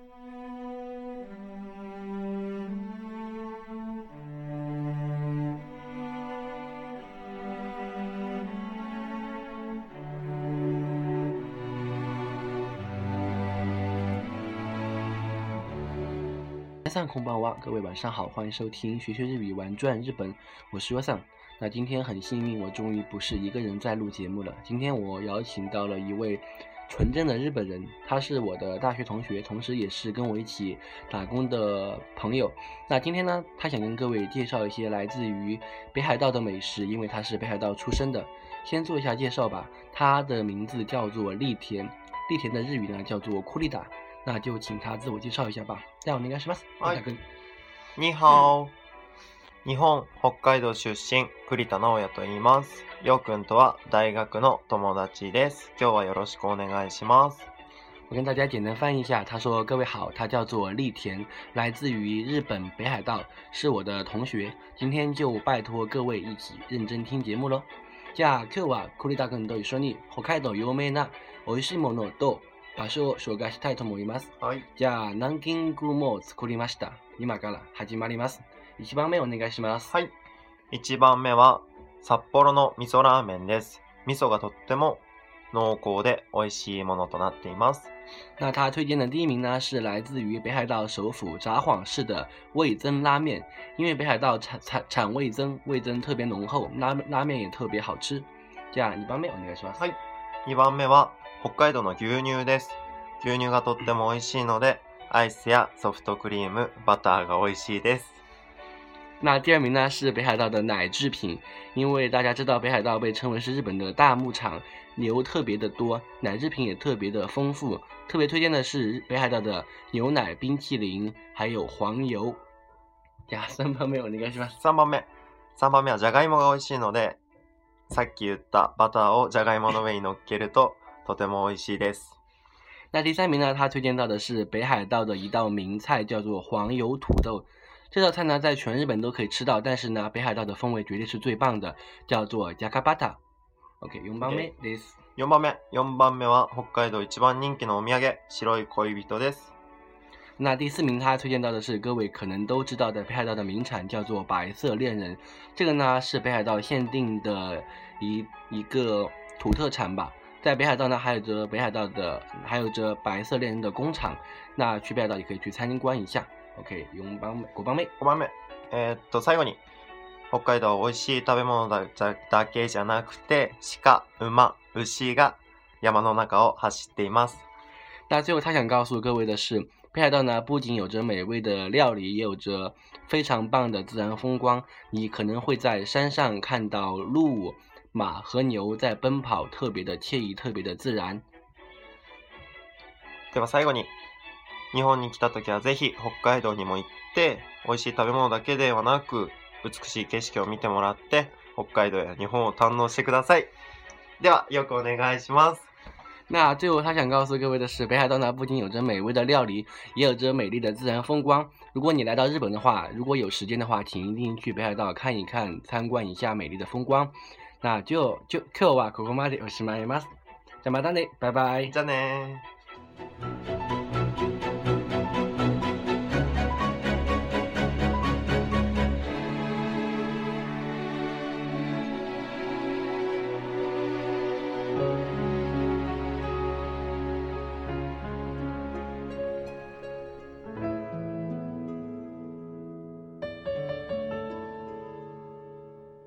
皆さんこんばんは，各位晚上好，欢迎收听学学日语玩转日本，我是 Yosan。那今天很幸运，我终于不是一个人在录节目了。今天我邀请到了一位纯正的日本人，他是我的大学同学，同时也是跟我一起打工的朋友。那今天呢，他想跟各位介绍一些来自于北海道的美食，因为他是北海道出生的。先做一下介绍吧，他的名字叫做栗田，栗田的日语呢叫做库利达。那就请他自我介紹一下吧。ではお願いします。 はい。にはお。日本北海道出身、栗田直也と言います。ようくんとは大学の友達です。今日はよろしくお願いします。 我跟大家简单翻译一下，他说：“各位好，他叫做栗田，来自于日本北海道，是我的同学。今天就拜托各位一起认真听节目咯。じゃあ今日は栗田くんと一緒に北海道有名な美味しいものと場所を紹介したいと思います。 はい。 じゃあランキングも作りました。今から始まります。1番目お願いします。 はい。1番目は札幌の味噌ラーメンです。味噌がとっても濃厚で美味しいものとなっています。 那他推荐的第一名呢，是来自于北海道首府札幌市的味噌拉面，因为北海道产味噌，味噌特别浓厚，拉面也特别好吃。じゃあ2番目お願いします。 はい。2番目は北海道の牛乳です。牛乳がとっても美味しいので、アイスやソフトクリーム、バターが美味しいです。 那第二名呢是北海道的奶制品，因为大家知道北海道被称为是日本的大牧场，牛特别的多，奶制品也特别的丰富。特别推荐的是北海道的牛奶冰淇淋，还有黄油。じゃあ3番目お願いします。 3番目はじゃがいもが美味しいので、さっき言ったバターをじゃがいもの上に乗っけるととても美味しいです。 那第三名呢，他推荐到的是北海道的一道名菜，叫做黄油土豆。这道菜呢，在全日本都可以吃到，但是呢，北海道的风味绝对是最棒的，叫做ジャカバタ。OK， 4番目です。 4番目は北海道一番人気のお土産、白い恋人です。 那第4名他推荐到的是各位可能都知道的北海道的名产，叫做白色恋人。这个呢是北海道限定的一个土特产吧。在北海道呢，还有着白色恋人的工厂。那去北海道也可以去参观一下。OK， 5番目。 最後に北海道美味しい食べ物だけじゃなくて、鹿、馬、牛が山の中を走っています。 那最后他想告诉各位的是，北海道呢不仅有着美味的料理，也有着非常棒的自然风光。你可能会在山上看到鹿、马和牛在奔跑，特别的惬意，特别的自然。 では最後に、日本に来た時はぜひ北海道にも行って、美味しい食べ物だけではなく、美しい景色を見てもらって、北海道や日本を堪能してください。では、よくお願いします。 那最后他想告诉各位的是，北海道呢不仅有着美味的料理，也有着美丽的自然风光。如果你来到日本的话，如果有时间的话，请一定去北海道看一看，参观一下美丽的风光。那就今日はここまでおしまいます。じゃあまたね、バイバイ。 じゃあね。